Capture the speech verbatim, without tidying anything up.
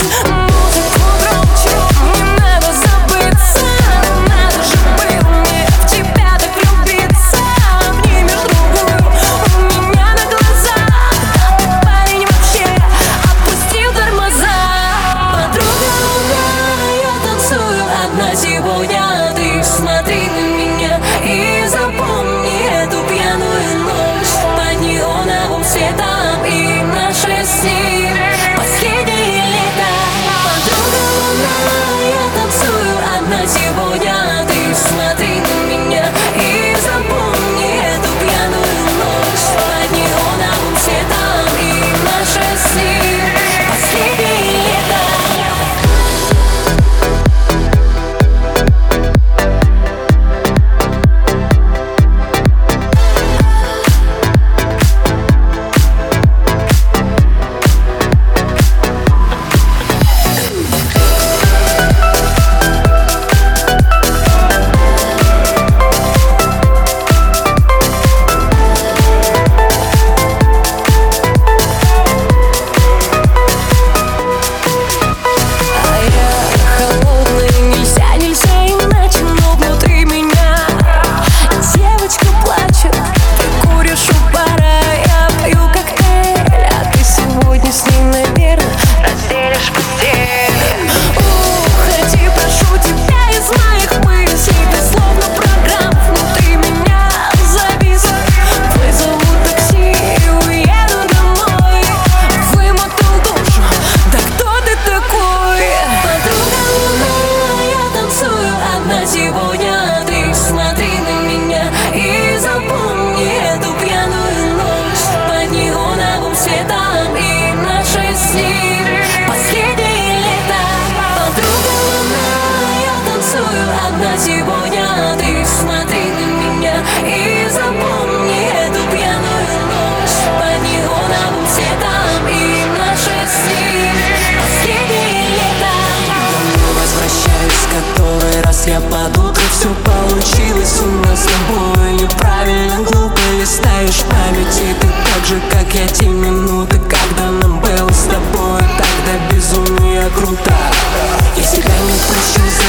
Сегодня ты смотри на меня и запомни эту пьяную ночь под неоновым светом и наши сны последние лета. Подруга луна, я танцую одна сегодня. Ты смотри на меня и запомни эту пьяную ночь под неоновым светом и наши сны последние лета. Сегодня ты смотри на меня и запомни эту пьяную ночь под неоновым светом и наши сны последние лета. Подруга луна, я танцую одна сегодня. Ты смотри на меня и запомни эту пьяную ночь под неоновым светом и наши сны последние лета. Домой возвращаюсь, который раз я под утро. Все получилось у нас с тобой. Неправильно, глупо листаешь памяти. Ты так же, как я, те минуты, когда нам было с тобой. Тогда безумие круто. Я себя не прощу за